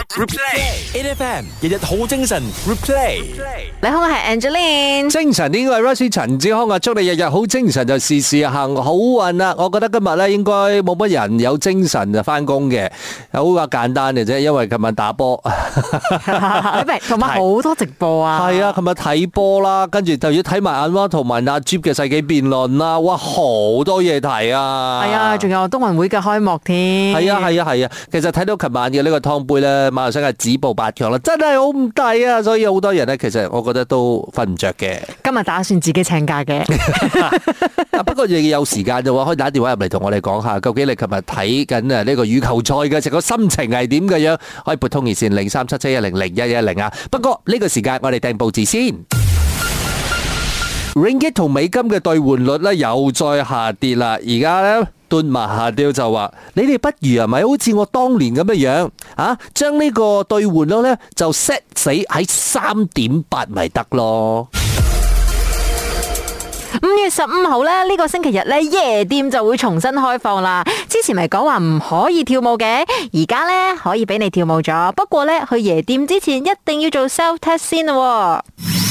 Replay，8FM 日日好精神。Replay， 你好，我係 Angeline。 精神呢個係 Rosie 陳志康啊，祝你日日好精神就事事行好運啦！我覺得今日咧應該冇乜人有精神就翻工嘅，好話簡單嘅啫，因為琴日打波， 同埋好多直播啊。 係啊，琴日睇波啦，跟住就要睇埋阿媽同埋阿 Jeep 嘅世紀辯論啦，哇，好多嘢睇啊！ 係啊，仲有冬運會嘅開幕添。 係啊，其實睇到琴晚嘅呢個湯杯咧，馬來西亞止步8強啦，真係好唔抵啊！所以好多人咧，其實我覺得都瞓唔着嘅。 今日打算自己請假嘅。 不過亦有時間嘅話，可以打電話入嚟同我哋講下，究竟你琴日睇緊呢個羽球賽嘅成個心情係點嘅樣？可以撥通熱線0377100110啊。不過呢個時間我哋訂報紙先。Ringgit 同美金嘅兌換率咧又再下跌啦，而家咧敦馬哈迪就話：你哋不如係咪好似我當年咁嘅樣啊？將呢個兌換率咧就 set 死喺3.8咪得咯。 5月15號咧，呢個星期日咧，夜店就會重新開放啦。之前咪講話唔可以跳舞嘅，而家咧可以俾你跳舞咗。不過咧，去夜店之前一定要做 self test 先咯。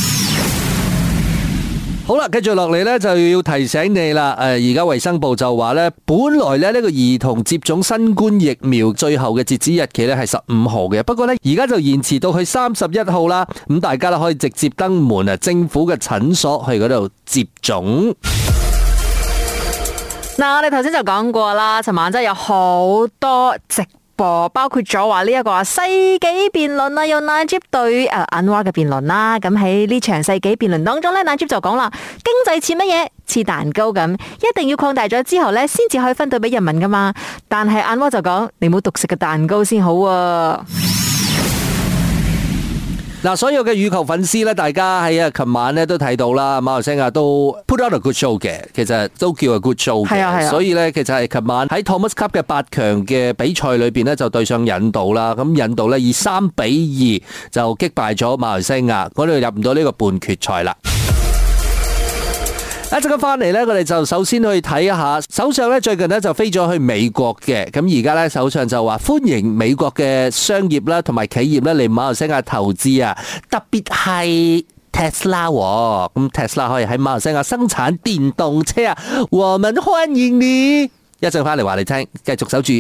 好啦，繼續落嚟咧就要提醒你啦。而家衛生部就話咧，本來咧呢個兒童接種新冠疫苗最後嘅截止日期咧係15號嘅，不過咧而家就延遲到去31號啦。咁大家咧可以直接登門啊，政府嘅診所去嗰度接種。 嗱，我哋頭先就講過啦，尋晚真係有好多直播，包括咗話呢一個世紀辯論啊，有 Najib 對Anwar 嘅辯論啦。咁喺呢場世紀辯論當中咧，Najib 就講啦，經濟似乜嘢？似蛋糕咁，一定要擴大咗之後咧，先至可以分到俾人民噶嘛。但係 Anwar 就講，你冇獨食嘅蛋糕先好啊。 嗱，所有嘅羽球粉絲咧，大家喺琴晚咧都睇到啦，馬來西亞都 put out a good show 嘅，其實都叫 a good show 嘅。係啊。所以咧，其實係琴晚喺 Thomas Cup 嘅8強嘅比賽裏邊咧，就對上印度啦。咁印度咧以3-2就擊敗咗馬來西亞，嗰度入唔到呢個半決賽啦。一陣間翻嚟咧，我哋就首先去睇一下首相咧，最近咧就飛咗去美國嘅。咁而家咧，首相就話歡迎美國嘅商業啦，同埋企業咧嚟馬來西亞投資啊，特別係 Tesla。咁 Tesla 可以喺馬來西亞生產電動車啊，我們歡迎你。一陣翻嚟話你聽，繼續守住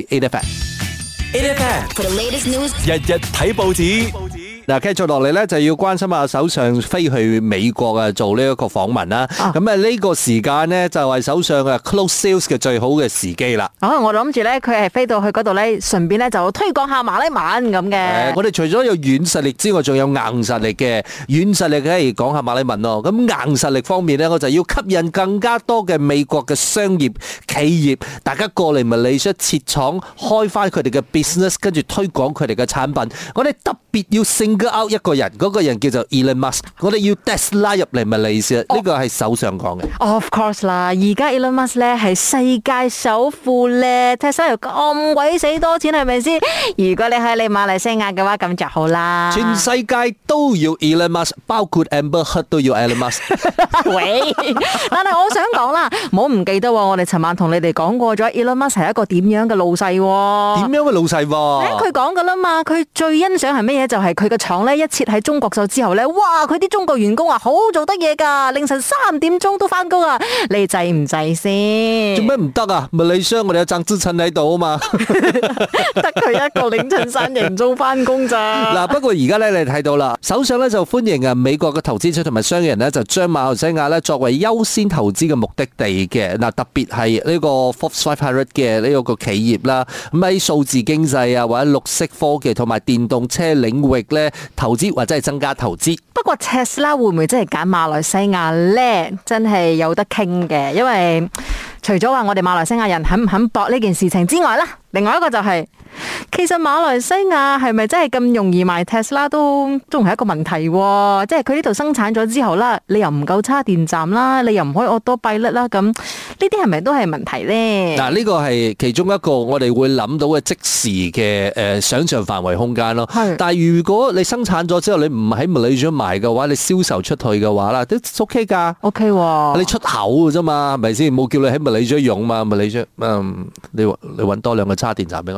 8FM。8FM for the latest news，日日睇報紙。 嗱，繼續落嚟咧，就要關心下首相飛去美國啊，做呢一個訪問啦。咁啊，呢個時間呢，就係首相啊 close sales 嘅最好嘅時機啦。 我諗住咧，佢係飛到去嗰度咧，順便咧就推廣下馬來文咁嘅。 我哋除咗有軟實力之外，仲有硬實力嘅。軟實力梗係講下馬來文咯。咁硬實力方面咧，我就要吸引更加多嘅美國嘅商業企業，大家過嚟馬來西亞設廠，開翻佢哋嘅 business， 跟住推廣佢哋嘅產品。我哋特別要out 一個人，嗰個人叫做 Elon Musk， 我哋要 Tesla 入嚟馬來西亞，呢個係首相講嘅。 Of course 啦，而家 Elon Musk 咧係世界首富咧，Tesla 又咁鬼死多錢，係咪先？如果你喺你馬來西亞嘅話，咁就好啦。 全世界都要 Elon Musk， 包括 Amber Heard 都要 Elon Musk。 喂，但係我想講啦，唔好唔記得我哋尋晚同你哋講過咗 Elon Musk 係一個點樣嘅老細。 點樣嘅老細？ 佢講噶啦嘛，佢最欣賞係乜嘢？就係佢嘅廠咧一設喺中國咗之後咧，哇！佢啲中國員工啊，好做得嘢噶，凌晨3點鐘都翻工啊！你制唔制先？ 做咩唔得啊？馬來西亞我哋有鄭志陳喺度啊嘛， 得佢一個凌晨3點鐘翻工咋？ 嗱，不過而家咧你睇到啦，首相咧就歡迎啊美國嘅投資者同埋商人咧，就將馬來西亞咧作為優先投資嘅目的地嘅。嗱，特別係呢個 Forbes 500嘅呢個企業啦，咁喺數字經濟啊或者綠色科技同埋電動車領域咧投資或者係增加投資。 不過 Tesla 會唔會真係揀馬來西亞咧？真係有得傾嘅，因為除咗話我哋馬來西亞人肯唔肯搏呢件事情之外啦，另外一個就係、其實馬來西亞係咪真係咁容易賣 Tesla 都仲係一個問題喎？即係佢呢度生產咗之後啦，你又唔夠叉電站啦，你又唔可以autopilot啦，咁呢啲係咪都係問題咧？ 嗱，呢個係其中一個我哋會諗到嘅即時嘅想象範圍空間咯。但係如果你生產咗之後，你唔喺馬來西亞賣嘅話，你銷售出去嘅話啦，都 OK 㗎。 OK 喎， 你出口嘅啫嘛，係咪先？冇叫你喺馬來西亞用嘛，馬來西亞你揾多2個叉電站俾我先啦。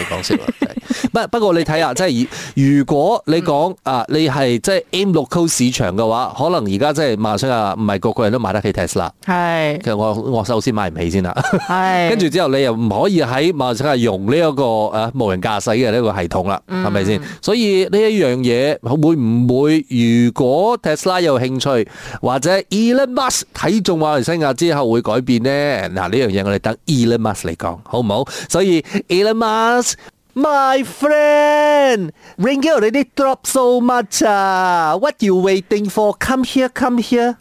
講笑啦。不過你睇下，即係如果你講你係即係 aim local 市場嘅話，可能而家即係馬來西亞唔係個個人都買得起 Tesla。係，其實我首先買唔起先啦。係，跟住之後你又唔可以喺馬來西亞用呢一個無人駕駛嘅呢個系統啦，係咪先？所以呢一樣嘢會唔會，如果 Tesla 有興趣，或者 Elon Musk 睇中馬來西亞之後會改變呢？嗱，呢樣嘢我哋等 Elon Musk 嚟講，好唔好？所以 Elon Musk。My friend, ringgit already dropped so much. What you waiting for? Come here, come here.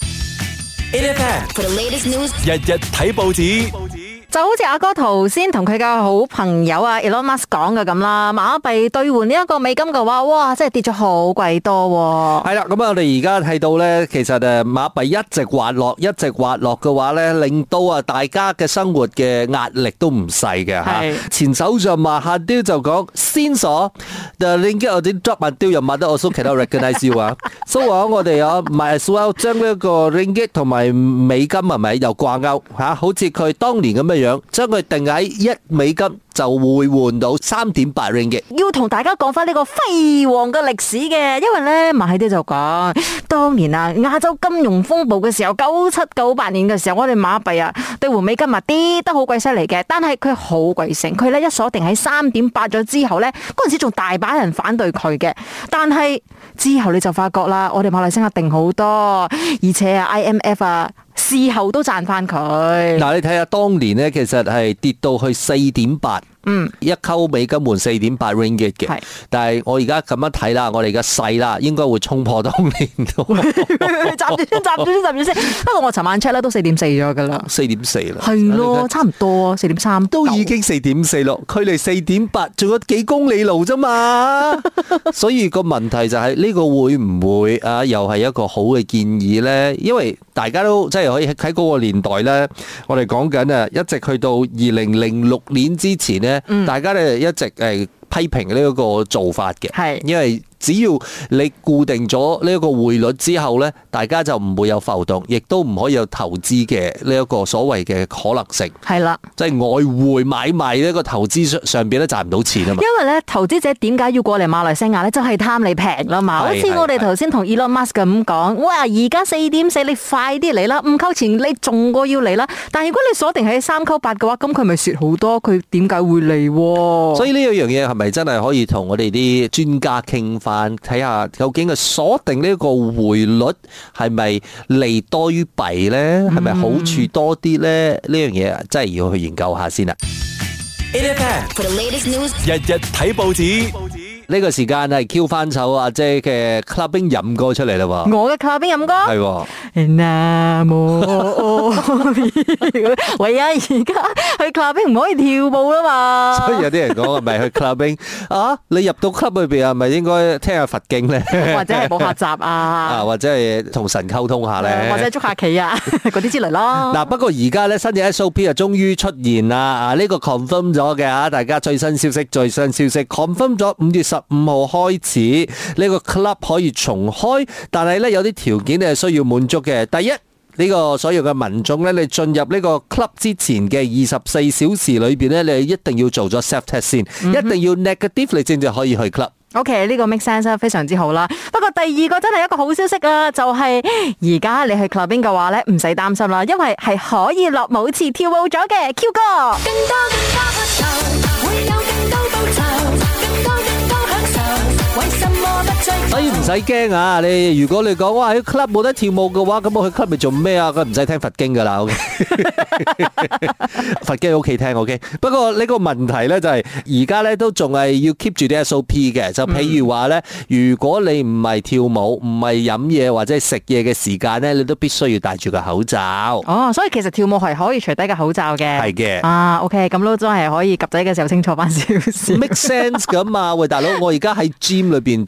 8FM For the latest news， 日日睇報紙。 就好似阿哥頭先同佢嘅好朋友Elon Musk 講嘅咁啦，馬幣兌換呢一個美金嘅話，哇，真係跌咗好鬼多。 係啦，咁我哋而家睇到咧，其實馬幣一直滑落嘅話咧，令到大家嘅生活嘅壓力都唔細嘅吓。前首相馬哈迪就講，Since the ringgit already drop until your mother also cannot recognize you 啊，所以話我哋might as well將呢一個 ringgit 同埋美金係咪又掛鈎吓？好似佢當年咁嘅樣，將佢定喺1美金就會換到3.8 ringgit。 要同大家講翻呢個輝煌嘅歷史嘅，因為咧馬哈迪就講，當年亞洲金融風暴嘅時候，97、98年嘅時候，我哋馬幣兌換美金跌得好鬼犀利嘅，但係佢好鬼醒，佢咧一鎖定喺3.8咗之後咧，嗰陣時仲大把人反對佢嘅，但係之後你就發覺啦，我哋馬來西亞定好多，而且IMF事後都賺翻佢。 嗱，你睇下當年咧，其實係跌到去4.8。一溝美金換4.8 ringgit 嘅，但係我而家咁樣睇啦，我哋嘅勢啦，應該會衝破當年度。集住先。不過我尋晚 check 咧都4.4咗噶啦。4.4啦。係咯，差唔多4.3。都已經4.4咯，距離4.8仲有幾公里路啫嘛。所以個問題就係呢個會唔會又係一個好嘅建議咧？因為大家都即係可以喺嗰個年代咧，我哋講緊一直去到2006年之前咧。大家咧一直批評呢一個做法嘅，因為只要你固定咗呢一個匯率之後咧，大家就唔會有浮動，亦都唔可以有投資嘅呢一個所謂嘅可能性。係啦，即係外匯買賣呢個投資上邊咧賺唔到錢啊嘛。因為咧投資者點解要過嚟馬來西亞咧？就係貪你平啦嘛。好似我哋頭先同 Elon Musk 咁講，哇！而家4.4，你快啲嚟啦，5溝錢你仲過要嚟啦。但係如果你鎖定喺3溝8嘅話，咁佢咪蝕好多？佢點解會嚟？所以呢一樣嘢係咪真係可以同我哋啲專家傾翻？睇下究竟佢鎖定呢個匯率係咪利多於弊咧？係咪好處多啲咧？呢樣嘢真係要去研究下先啦。 For the latest news， 日日睇報紙。 呢個時間係 Q 翻首阿姐嘅 clubbing 飲歌出嚟啦喎！ 我嘅 clubbing 飲歌係喎。喂啊！而家去 clubbing 唔可以跳舞啦嘛。 所以有啲人講係咪去 clubbing 你入到 club 裏邊係咪應該聽下佛經咧？ 或者係補下習或者係同神溝通下咧？ 或者捉下棋嗰啲之類咯。 嗱，不過而家咧新嘅 SOP 啊，終於出現啦！呢個 confirm 咗嘅大家最新消息 confirm 咗5月15號開始呢個 club 可以重開，但係咧有啲條件係需要滿足嘅。第一，呢個所有嘅民眾咧，你進入呢個 club 之前嘅24小時裏邊咧，你一定要做咗 self test 先，一定要 negative 你先至可以去 club。 OK， 呢個 make sense 非常之好啦。不過第二個真係一個好消息啊，就係而家你去 clubbing 嘅話咧，唔使擔心啦，因為係可以落舞池跳舞咗嘅。Q 哥，更多黑頭，會有更多報酬，更多享受，為什麼不追？ 所以唔使驚啊！你如果你講哇喺 club 冇得跳舞嘅話，咁我去 club 咪做咩啊？佢唔使聽佛經噶啦。OK， 佛經喺屋企聽 OK。不過呢個問題咧就係而家咧都仲係要 keep 住啲 SOP 嘅。就譬如話咧，如果你唔係跳舞、唔係飲嘢或者係食嘢嘅時間咧，你都必須要戴住個口罩。 哦，所以其實跳舞係可以除低個口罩嘅。係嘅。OK， 咁都真係可以及仔嘅時候清楚翻少少。 Make sense 咁啊！喂，大佬，我而家喺 gym 裏邊做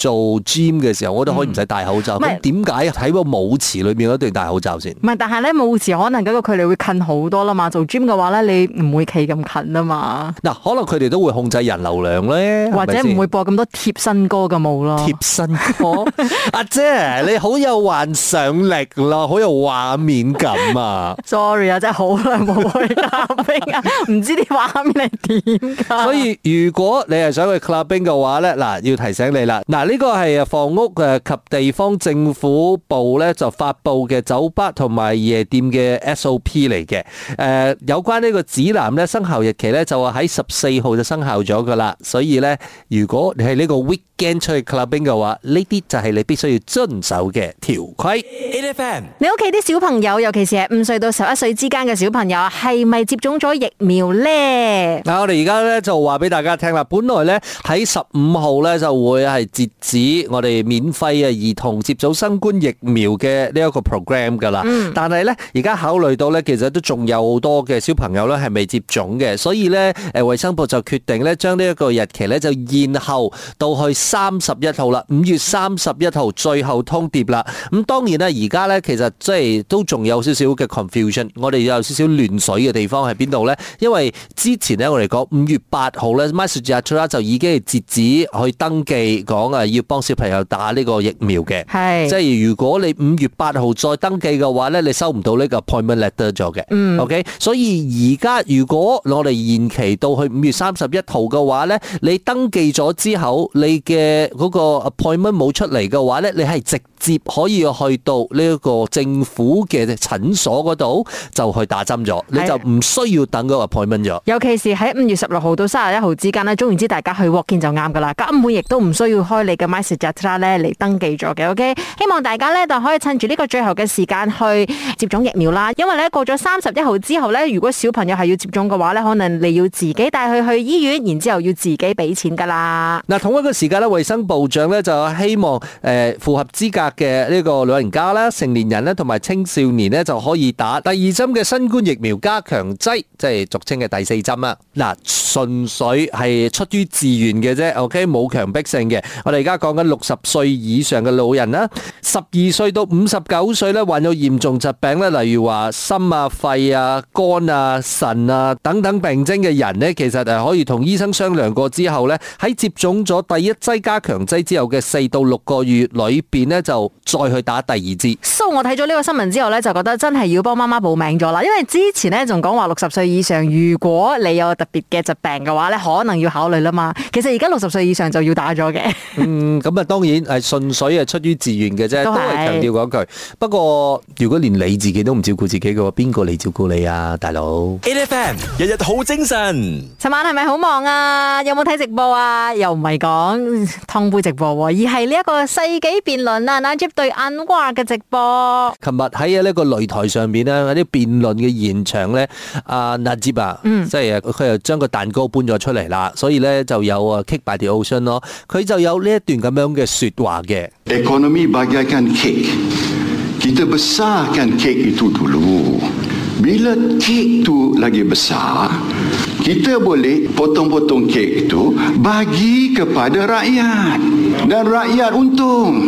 gym 嘅時候，我都可以唔使戴口罩。咁點解喺個舞池裏面一定要戴口罩先？ 唔係，但係咧舞池可能嗰個距離會近好多啦嘛。做 gym 嘅話咧，你唔會企咁近啊嘛。 嗱，可能佢哋都會控制人流量咧， 或者唔會播咁多貼身歌嘅舞咯。 貼身歌，阿姐你好有幻想力咯，好有畫面感啊 ！Sorry 啊，真係好耐冇去 clubbing 啊，唔知啲畫面係點㗎。 所以如果你係想去 clubbing 嘅話咧，嗱要提醒你啦，嗱呢個係房屋及地方政府部咧就發布嘅酒吧同埋夜店嘅 SOP 嚟嘅。有關呢個指南咧生效日期咧就喺14號就生效咗噶啦，所以咧如果你係呢個 weekend 出去 clubbing 嘅話，呢啲就係你必須要遵守嘅條規。 8FM， 你屋企啲小朋友，尤其是係5歲到11歲之間嘅小朋友，係咪接種咗疫苗咧？ 嗱，我哋而家咧就話俾大家聽啦，本來咧喺15號咧就會係截止我哋免費嘅兒童接種新冠疫苗嘅呢一個 program 噶啦，但係咧而家考慮到咧，其實都仲有好多嘅小朋友咧係未接種嘅，所以咧衛生部就決定咧將呢一個日期咧就延後到去31號啦，5月31號最後通牒啦。咁當然啦，而家咧其實即係都仲有少少嘅 confusion， 我哋有少少亂水嘅地方喺邊度咧？因為之前咧我哋講5月8號咧 MySejahtera 就已經係截止去登記講要幫小朋友打呢個疫苗嘅，係即係如果你5月8號再登記嘅話咧，你收唔到呢個 appointment letter 咗嘅。OK， 所以而家如果我哋延期到去5月31號嘅話咧，你登記咗之後，你嘅嗰個 appointment 冇出嚟嘅話咧，你係直接可以去到呢一個政府嘅診所嗰度就去打針咗，你就唔需要等嗰個 appointment 咗。 尤其是喺5月16號到31號之間咧，總言之大家去 walk in 就啱噶啦，根本亦都唔需要開你嘅 MySejahtera 咧嚟登記咗嘅。OK， 希望大家咧就可以趁住呢個最後嘅時間去接種疫苗啦。因為咧過咗31號之後咧，如果小朋友係要接種嘅話咧，可能你要自己帶佢去醫院，然之後要自己俾錢噶啦。 嗱，同一個時間咧，衛生部長咧就希望符合資格嘅呢個老人家啦、成年人咧同埋青少年咧就可以打第2針嘅新冠疫苗加強劑，即係俗稱嘅第4針啦。嗱，純粹係出於自願嘅啫 ，OK， 冇強迫性嘅。我哋而家講緊60歲以上嘅老人啦，12歲到59歲咧患有嚴重疾病咧，例如話心啊、肺啊、肝啊、腎啊等等病徵嘅人咧，其實係可以同醫生商量過之後咧，喺接種咗第1劑加強劑之後嘅4到6個月裏邊咧，就再去打第2支。 So 我睇咗呢個新聞之後咧，就覺得真係要幫媽媽報名咗啦，因為之前咧仲講話60歲以上，如果你有特別嘅疾病嘅話咧，可能要考慮啦嘛。其實而家60歲以上就要打咗嘅。 咁啊當然係純粹係出於自願嘅啫，都係強調嗰句。不過如果連你自己都唔照顧自己嘅話，邊個嚟照顧你啊，大佬 8FM 日日好精神。 尋晚係咪好忙啊？有冇睇直播啊？又唔係講湯杯直播，而係呢一個世紀辯論啊，Najib 對安華嘅直播。 琴日喺呢個擂台上邊咧，喺啲辯論嘅現場咧，阿 Najib 啊，即係佢又將個蛋糕搬咗出嚟啦，所以咧就有Cake by the Ocean咯，佢就有呢一段咁樣嘅說話嘅。 Ekonomi bagaikan kek. Kita besarkan kek itu dulu. Bila kek itu lagi besar, kita boleh potong-potong kek itu bagi kepada rakyat. Dan rakyat untung.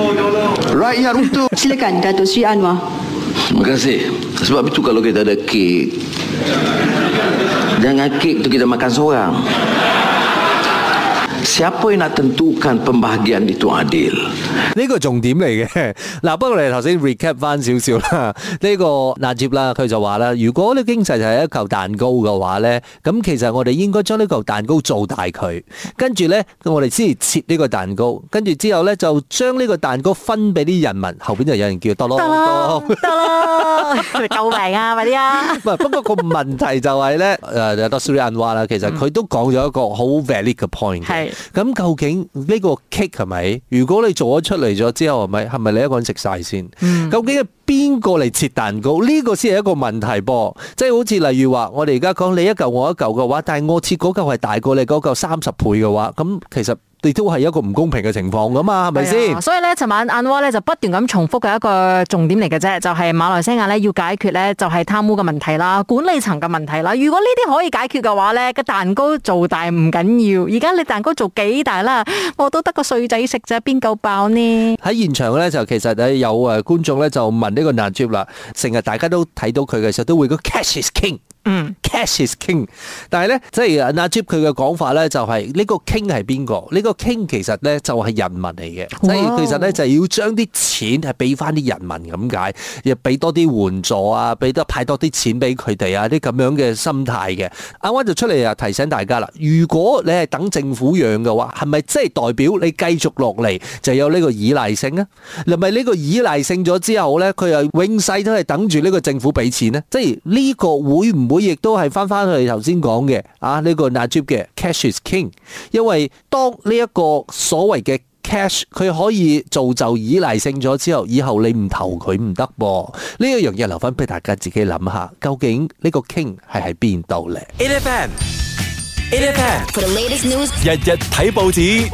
Rakyat untung. Silakan Datuk Sri Anwar. Terima kasih. Sebab itu kalau kita ada kek, jangan kek itu kita makan seorang. Siapa yang nak tentukan pembahagian itu adil？ 呢個重點嚟嘅。嗱，不過你頭先 recap 翻少少啦。呢個 Najib 啦，佢就話啦，如果呢經濟就係一嚿蛋糕嘅話咧，咁其實我哋應該將呢嚿蛋糕做大佢，跟住咧我哋先切呢個蛋糕，跟住之後咧就將呢個蛋糕分俾啲人民，後邊就有人叫多咯得啦，救命啊，快啲啊！ 不過個問題就係咧，Datuk Seri Anwar啦，其實佢都講咗一個好 valid 嘅 point 嘅。咁究竟呢個 cake 係咪？如果你做咗出嚟咗之後，係咪你一個人食晒先？究竟係邊個嚟切蛋糕？呢個先係一個問題噃。即係好似例如話，我哋而家講你一嚿我一嚿嘅話，但係我切嗰嚿係大過你嗰嚿30倍嘅話，咁其實你都係一個唔公平嘅情況噶嘛，係咪先？ 所以咧，尋晚安華咧就不斷咁重複嘅一個重點嚟嘅啫，就係馬來西亞咧要解決咧就係貪污嘅問題啦、管理層嘅問題啦。如果呢啲可以解決嘅話咧，個蛋糕做大唔緊要。而家你蛋糕做幾大啦，我都得個碎仔食啫，邊夠爆呢？ 喺現場咧就其實有觀眾咧就問呢個 Najib 啦，成日大家都睇到佢嘅時候都會個 cash is king。Cash is king， 但係咧，即係 Najib 佢嘅講法咧，就係呢個 king 係邊個？呢個 king 其實咧就係人民嚟嘅，即係其實咧就係要將啲錢係俾翻啲人民咁解，又俾多啲援助啊，俾多派多啲錢俾佢哋啊，啲咁樣嘅心態嘅。阿溫就出嚟啊提醒大家啦，如果你係等政府養嘅話，係咪即係代表你繼續落嚟就有呢個依賴性啊？係咪呢個依賴性咗之後咧，佢又永世都係等住呢個政府俾錢呢？即係呢個會唔會亦都係翻去頭先講嘅呢個 Najib 嘅 cash is king， 因為當呢一個所謂嘅 cash 佢可以造就依賴性咗之後，以後你唔投佢唔得噃。呢一樣嘢留翻俾大家自己諗下，究竟呢個 king 係喺邊度咧 ？8FM For the latest news， 日日睇報紙。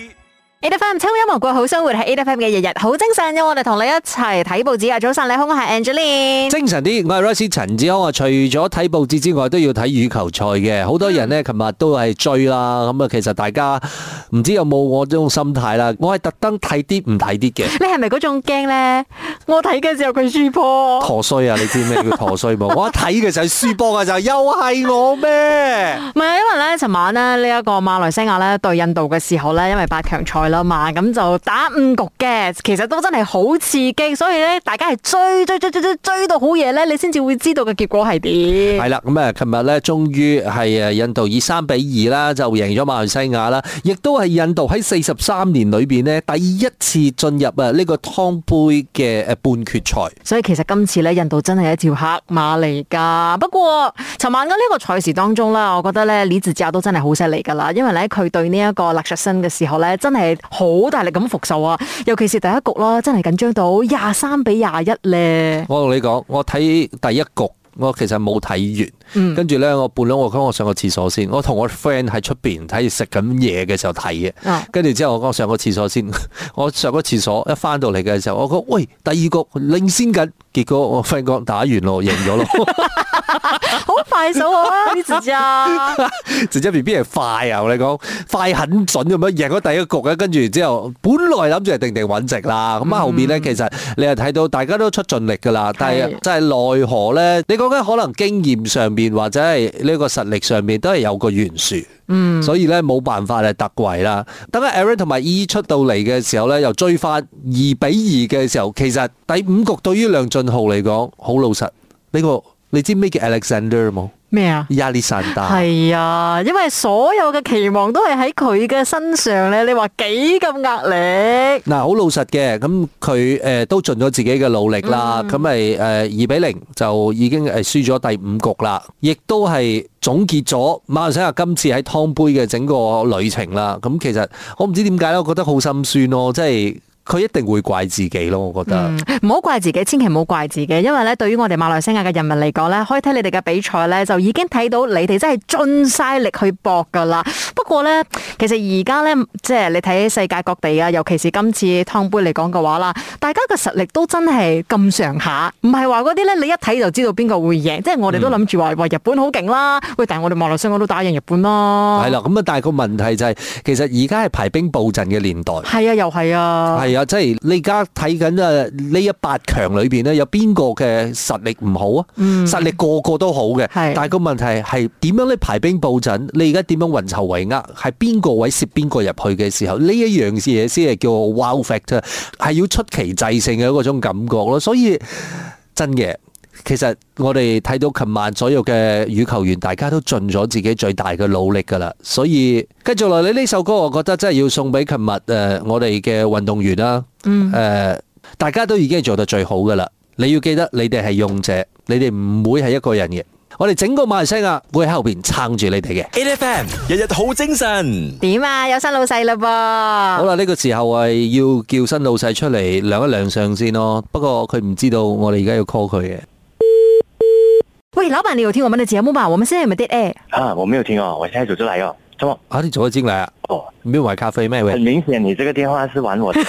8FM 秋音樂過好生活係 8FM 嘅日日好精神，我哋同你一齊睇報紙啊！早晨你好，我係 Angeline。 精神啲，我係 Royce 陳志康啊！除咗睇報紙之外，都要睇羽球賽嘅。好多人呢，琴日都係追啦。咁啊，其實大家唔知有冇我呢種心態啦。我係特登睇啲唔睇啲嘅。 你係咪嗰種驚咧？我睇嘅時候佢輸波， 陀衰啊！你知咩叫陀衰冇？我一睇嘅時候輸波嘅時候，又係我咩？ 唔係，因為咧，尋晚咧呢一個馬來西亞咧對印度嘅時候咧，因為8強賽啦嘛，咁就打5局嘅，其實都真係好刺激，所以咧大家係追到好夜咧，你先至會知道嘅結果係點。係啦，咁啊，琴日咧終於係印度以3-2啦就贏咗馬來西亞啦，亦都係印度喺43年裏邊呢第一次進入呢個湯杯嘅半決賽。 所以其實今次咧印度真係一條黑馬嚟噶。不過尋晚嘅呢個賽事當中咧，我覺得咧李梓嘉都真係好犀利噶啦，因為咧佢對呢一個勒實申嘅時候咧，真係好大力咁復仇啊！尤其是第一局啦，真係緊張到23-21咧。 我同你講，我睇第一局，我其實冇睇完，跟住咧我半兩我講我上個廁所先，我同我 friend 喺出邊睇食緊嘢嘅時候睇嘅，跟住之後我講上個廁所先，我上個廁所一翻到嚟嘅時候，我講喂第二局領先緊，結果我 friend 講打完咯，贏咗咯。 好快手啊！李梓嘉， 梓嘉 BB 係快啊！我哋講快很準咁樣贏咗第一局咧，跟住之後本來諗住係定穩值啦，咁後面咧其實你係睇到大家都出盡力噶啦，但係真係奈何咧？你講緊可能經驗上邊或者係呢個實力上邊都係有個懸殊，所以咧冇辦法係突圍啦。等阿 Aaron 同埋 E 出到嚟嘅時候咧，又追翻2-2嘅時候，其實第5局對於梁俊浩嚟講好老實呢個。你知咩叫 Alexander 冇？ 咩啊？ 亞歷山大係啊，因為所有嘅期望都係喺佢嘅身上咧。你話幾咁壓力？嗱， 好老實嘅，咁佢都盡咗自己嘅努力啦。咁咪2-0就已經輸咗第5局啦，亦都係總結咗馬來西亞今次喺湯杯嘅整個旅程啦。咁其實我唔知點解咧，我覺得好心酸咯，即係。佢一定會怪自己咯，我覺得。 唔好怪自己，千祈唔好怪自己，因為咧，對於我哋馬來西亞嘅人民嚟講咧，可以睇你哋嘅比賽咧，就已經睇到你哋真係盡晒力去搏噶啦。不過咧，其實而家咧，即係你睇世界各地啊，尤其是今次湯杯嚟講嘅話啦，大家嘅實力都真係咁上下，唔係話嗰啲咧，你一睇就知道邊個會贏。即係我哋都諗住話日本好勁啦，喂，但係我哋馬來西亞都打贏日本啦。 係啦，咁啊，但係個問題就係，其實而家係排兵布陣嘅年代。 係啊，又係啊。 即係你而家睇緊呢一8強裏邊咧，有邊個嘅實力唔好啊？實力個個都好嘅，但係個問題係點樣你排兵布陣？你而家點樣運籌帷幄？係邊個位攝邊個入去嘅時候，呢一樣嘢先係叫 wow factor， 係要出奇制勝嘅嗰種感覺咯。所以真嘅。其實我哋睇到琴晚所有嘅羽球員，大家都盡咗自己最大嘅努力噶啦，所以繼續落嚟呢首歌，我覺得真係要送俾琴日我哋嘅運動員啦。大家都已經係做得最好噶啦，你要記得你哋係勇者，你哋唔會係一個人嘅。我哋整個馬來西亞會喺後邊撐住你哋嘅。 8FM 日日好精神。 點啊？有新老細啦噃。 好啦，呢個時候係要叫新老細出嚟亮一亮相先咯。不過佢唔知道我哋而家要 call 佢嘅。 喂，老闆，你有聽我們的節目嗎？我們現在有沒有 dead air？ 啊，我沒有聽哦，我現在走出來哦。 怎麼？ 啊，你走咗進來啊？ 哦， 你沒有買咖啡咩？ 很明顯，你這個電話是玩我的。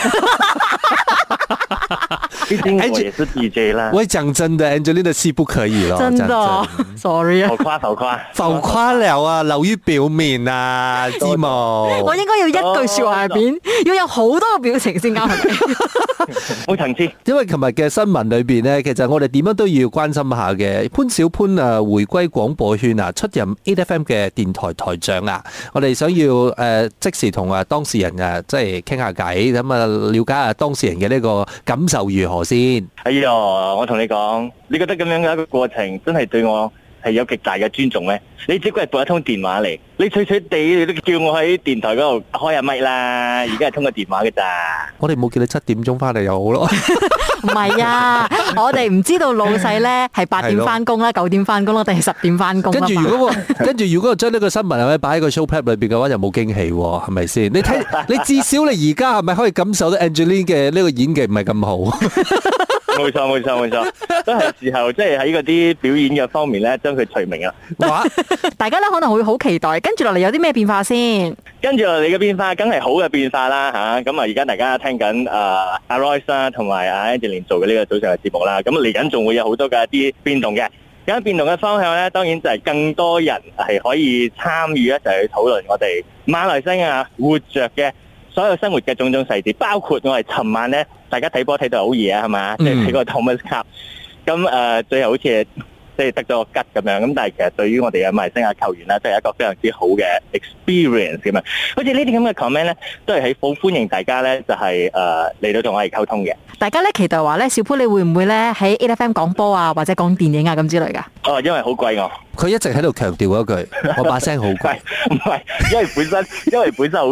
畢竟我也是 DJ 啦。 我講真的 ，Angelina 是不可以咯， 真的，sorry 啊， 浮誇， 浮誇了啊，流於表面啊，知冇？ 我應該要一句說話入邊要有好多個表情先啱，係咪？ 冇層次。 因為琴日嘅新聞裏邊呢，其實我哋點樣都要關心下嘅。潘小潘啊，回歸廣播圈啊，出任 8FM 嘅電台台長啊，我哋想要即時同當事人啊，即係傾下偈，咁啊了解下當事人嘅呢個感受如何先。 哎呀，我同你講，你覺得咁樣嘅一個過程，真係對我係有極大嘅尊重咩？你只不過係撥一通電話嚟，你脆脆地你都叫我喺電台嗰度開下咪啦，而家係通個電話嘅咋？ 我哋冇叫你7點鐘翻嚟又好咯。 唔係啊，我哋唔知道老細咧係8點翻工啦、9點翻工啦，定係10點翻工。 跟住如果我將呢個新聞係咪擺喺個 show prep 裏邊嘅話，就冇驚喜喎，係咪先？你睇，你至少你而家係咪可以感受到 Angelina 嘅呢個演技唔係咁好？ 冇錯，都係時候即係喺嗰啲表演嘅方面咧，將佢除名啦。 大家咧可能會好期待，跟住落嚟有啲咩變化先？ 跟住落嚟嘅變化，梗係好嘅變化啦嚇。咁啊，而家大家聽緊阿 Royce 啦，同埋阿 Angelina 做嘅呢個早上嘅節目啦。咁嚟緊仲會有好多嘅一啲變動嘅。咁變動嘅方向咧，當然就係更多人係可以參與一齊去討論我哋馬來西亞活著嘅所有生活嘅種種細節，包括我哋尋晚咧，大家睇波睇到好夜啊，係嘛？即係睇個 Thomas Cup，咁最後好似即係得咗個吉咁樣。咁但係其實對於我哋嘅馬來西亞球員咧，都係一個非常之好嘅 experience 咁樣。好似呢啲咁嘅 comment 咧，都係好歡迎大家咧，就係嚟到同我哋溝通嘅。 大家咧期待話咧，小潘你會唔會咧喺 8FM 講波啊，或者講電影啊咁之類㗎？ 哦，因為好貴我。 佢一直喺度強調嗰句，我把聲好貴。 唔係，因為本身好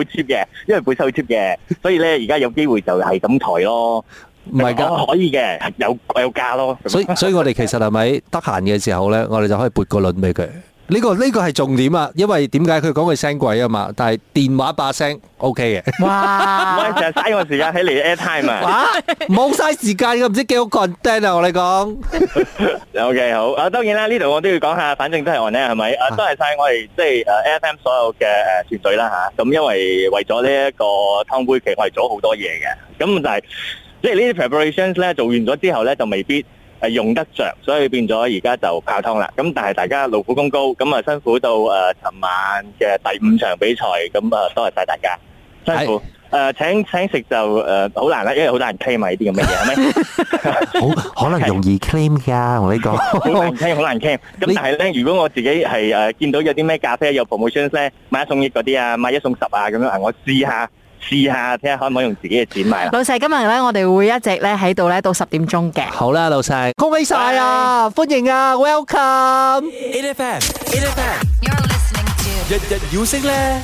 cheap 嘅，所以咧而家有機會就係咁抬咯。 唔係㗎， 可以嘅，有價咯。 所以我哋其實係咪得閒嘅時候咧，我哋就可以撥個輪俾佢。呢個係重點啊，因為點解佢講佢聲貴啊嘛，但係電話把聲 OK 嘅。 哇！ 唔係成日嘥我時間喺嚟 airtime 啊！ 冇嘥時間㗎，唔知幾好 content 啊！我哋講。 OK 好啊，當然啦，呢度我都要講下，反正都係 on air 係咪？多謝曬我哋即係AFM 所有嘅團隊啦嚇。咁因為咗呢一個湯杯，其實我哋做好多嘢嘅。咁但係即係呢啲 preparations 咧做完咗之後咧，就未必用得着，所以變咗而家就泡湯啦。咁但係大家勞苦功高，咁啊辛苦到尋晚嘅第5場比賽，咁啊多謝曬大家辛苦。請食就好難啦，因為好多人 claim 埋呢啲咁嘅嘢，係咪？ 可能容易 claim 㗎，我呢個好難 claim。咁但係咧，如果我自己係見到有啲咩咖啡有 promotions 咧，買1送1嗰啲啊，買1送10啊咁樣，我試下睇下可唔可以用自己嘅錢買啦。 老細今日咧，我哋會一直咧喺度咧到10點鐘嘅。 好啦，老細，恭喜晒啊，歡迎啊 ，welcome。 8FM You're listening to 日日要升咧。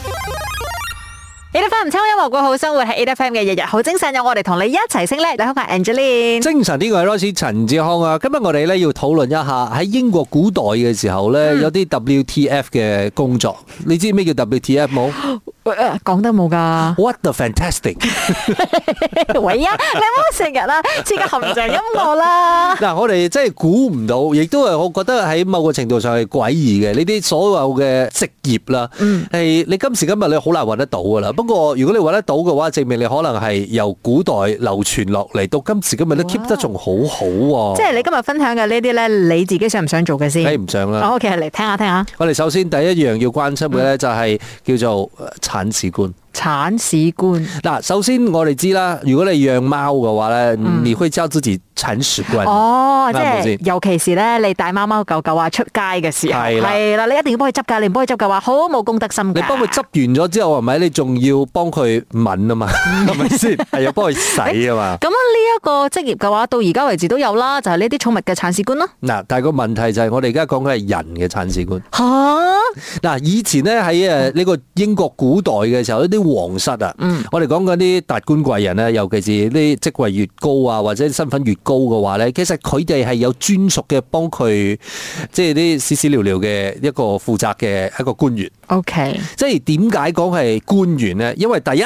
8FM 唔抽音樂過好生活係 8FM 嘅日日好精神，有我哋同你一齊升咧。你好，我係 Angelina。 精神呢個係 Royce 陳志康啊。今日我哋咧要討論一下喺英國古代嘅時候咧，有啲 WTF 嘅工作。你知咩叫 WTF 冇？ 講得冇噶。 What the fantastic！ 喂啊，你唔好成日啦，似個含象音樂啦。 嗱，我哋真係估唔到，亦都係我覺得喺某個程度上係詭異嘅呢啲所有嘅職業啦。係你今時今日你好難揾得到噶啦。不過如果你揾得到嘅話，證明你可能係由古代流傳落嚟到今時今日都 keep 得仲好好喎。 即係你今日分享嘅呢啲咧，你自己想唔想做嘅先？ 梗係唔想啦。 OK，嚟聽下。 我哋首先第一樣要關心嘅咧，就係叫做鏟屎官。 鏟屎官嗱，首先我哋知啦，如果你養貓嘅話咧，你會叫自己鏟屎官。 哦，即係尤其是咧，你帶貓貓狗狗啊出街嘅時候，係啦，你一定要幫佢執㗎，你唔幫佢執嘅話，好冇公德心㗎。 你幫佢執完咗之後，係咪？你仲要幫佢聞啊嘛，係咪先？係要幫佢洗啊嘛。 咁呢一個職業嘅話，到而家為止都有啦，就係呢啲寵物嘅鏟屎官咯。 嗱，但係個問題就係我哋而家講嘅係人嘅鏟屎官。 嚇！ 嗱，以前咧喺呢個英國古代嘅時候，呢啲皇室啊，我哋講緊啲達官貴人咧，尤其是啲職位越高啊，或者身份越高嘅話咧，其實佢哋係有專屬嘅幫佢，即係啲屎屎尿尿嘅一個負責嘅一個官員。 OK， 即係點解講係官員咧？因為第一，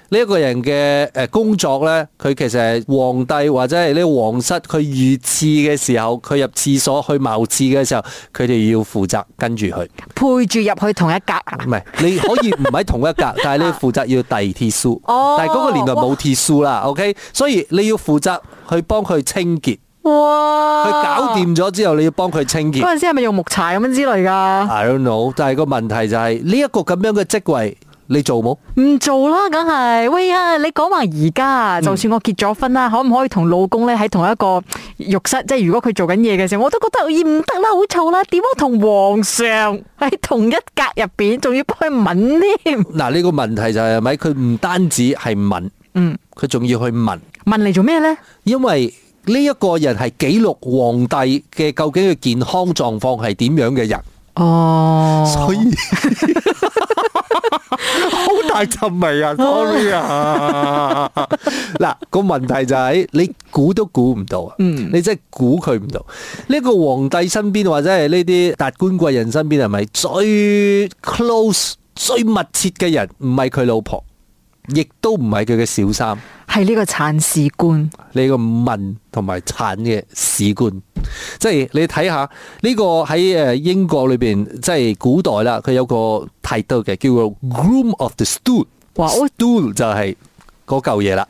呢一個人嘅工作咧，佢其實係皇帝或者係呢個皇室，佢御廁嘅時候，佢入廁所去茅廁嘅時候，佢哋要負責跟住佢， 配住入去同一格啊？ 唔係，你可以唔喺同一格，但係你要負責要遞鐵書。 哦， 但係嗰個年代冇鐵書啦，OK， 所以你要負責去幫佢清潔。 哇！ 佢搞掂咗之後，你要幫佢清潔。 嗰陣時係咪用木柴咁樣之類噶 I don't know， 但係個問題就係呢一個咁樣嘅職位，你做冇？ 唔做啦，梗係。喂啊，你講話而家，就算我結咗婚啦，可唔可以同老公咧喺同一個浴室？即係如果佢做緊嘢嘅時候，我都覺得唔得啦，好嘈啦。點樣同皇上喺同一格入邊，仲要幫佢吻添？ 嗱，呢個問題就係咪佢唔單止係問，佢仲要去問嚟做咩咧？ 因為呢一個人係記錄皇帝嘅究竟嘅健康狀況係點樣嘅人。 哦， 所以好大陣味啊 ，sorry 啊！嗱，個問題就係你估都估唔到啊，你真係估佢唔到。呢個皇帝身邊或者係呢啲達官貴人身邊係咪最 close 最密切嘅人？唔係佢老婆，亦都唔係佢嘅小三。 係呢個鏟屎官， 呢個問同埋鏟嘅史官，即係你睇下呢個喺英國裏邊，即係古代啦，佢有個 title 嘅，叫做 Groom of the Stool。哇 ，stool 就係嗰嚿嘢啦。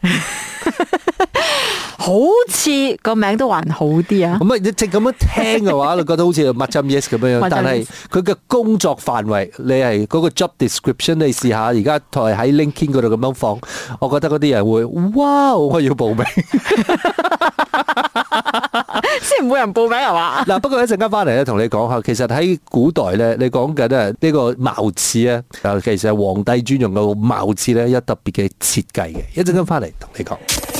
好似個名都還好啲啊！ 咁啊，你直咁樣聽嘅話，你覺得好似 Macam Yes 咁樣樣，但係佢嘅工作範圍，你係嗰個 job description，你試下而家台喺 LinkedIn 嗰度咁樣放，我覺得嗰啲人會，哇！我要報名， 先唔會人報名係嘛？ 嗱，不過一陣間翻嚟咧，同你講下，其實喺古代咧，你講緊啊呢個茅廁咧，其實係皇帝專用嘅茅廁咧，有特別嘅設計嘅。一陣間翻嚟同你講。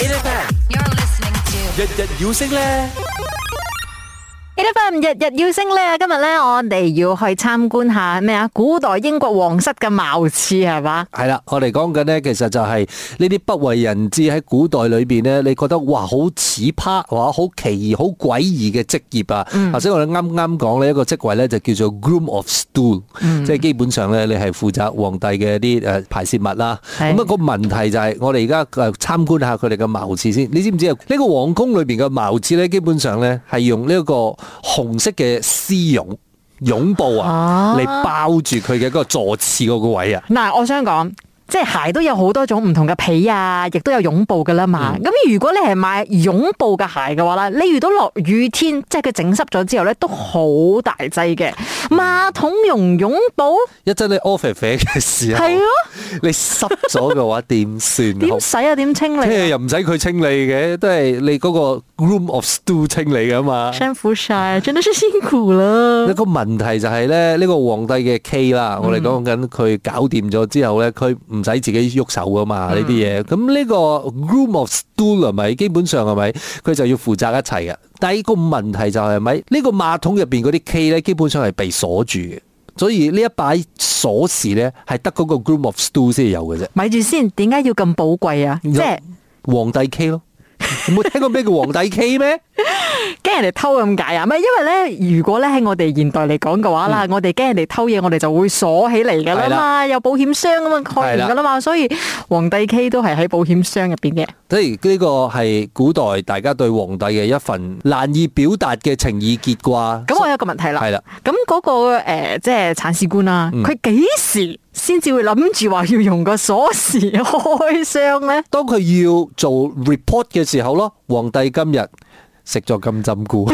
You're listening to 日日要升咧。 日日要升咧，今日咧我哋要去參觀下咩啊？古代英國皇室嘅茅廁係嘛？ 係啦，我哋講緊咧，其實就係呢啲不為人知喺古代裏邊咧，你覺得哇好奇葩，哇好奇異、好詭異嘅職業啊！頭先我哋啱啱講呢一個職位咧就叫做 Groom of Stool，即係基本上咧你係負責皇帝嘅啲排泄物啦。咁啊個問題就係我哋而家參觀下佢哋嘅茅廁先。你知唔知啊？呢個皇宮裏邊嘅茅廁咧，基本上咧係用呢一個紅色嘅絲絨布啊，嚟包住佢嘅嗰個坐廁嗰個位啊。 嗱，我想講，即係鞋都有好多種唔同嘅皮啊，亦都有絨布噶啦嘛。咁如果你係買絨布嘅鞋嘅話咧，你遇到落雨天，即係佢整濕咗之後咧，都好大劑嘅。馬桶用絨布， 一陣你屙肥肥嘅時候， 係咯， 你濕咗嘅話點算？ 點洗啊？點清理？ 即係又唔使佢清理嘅，都係你嗰個 Groom of Stool 清理噶嘛。 辛苦晒，真係辛苦啦。 一個問題就係咧，呢個皇帝嘅 K 啦，我哋講緊佢搞掂咗之後咧，佢唔使自己喐手噶嘛呢啲嘢。咁呢個 Groom of Stool 係咪基本上係咪佢就要負責一切嘅？但係個問題就係咪呢個馬桶入邊嗰啲 K 咧，基本上係被鎖住嘅，所以呢一把鎖匙咧係得嗰個 Groom of Stool 先有嘅啫。 咪住先，點解要咁寶貴啊？即係皇帝 K 咯，有冇聽過咩叫皇帝 K 咩？ 驚人哋偷咁解啊？唔係，因為咧，如果咧喺我哋現代嚟講嘅話啦，我哋驚人哋偷嘢，我哋就會鎖起嚟噶啦嘛，有保險箱咁樣開完噶啦嘛，所以皇帝 K 都係喺保險箱入邊嘅。 即係呢個係古代大家對皇帝嘅一份難以表達嘅情意結啩。 咁我有一個問題啦， 係啦， 咁嗰個即係鏟屎官啦，佢幾時先至會諗住話要用個鎖匙開箱咧？ 當佢要做 report 嘅時候咯，皇帝今日食咗金針菇。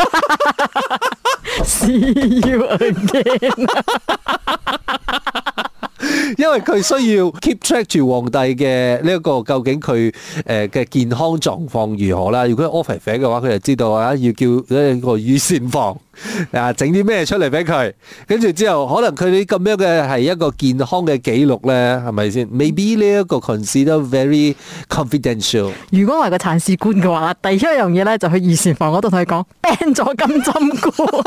See you again。 因為佢需要 keep track 住皇帝嘅呢一個究竟佢嘅健康狀況如何啦。如果屙肥肥嘅話，佢就知道啊，要叫呢個御膳房啊整啲咩出嚟俾佢。跟住之後，可能佢哋咁樣嘅係一個健康嘅記錄咧，係咪先？Maybe 呢一個 consider very confidential。 如果我係個鏟屎官嘅話，第一樣嘢咧就去御膳房嗰度同佢講 ban 咗金針菇。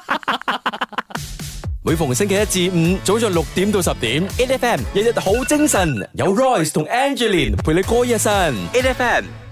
每逢星期一至五，早上6點到10點，8FM 日日好精神，有 Royce 同 Angeline 陪你過一晨，8FM。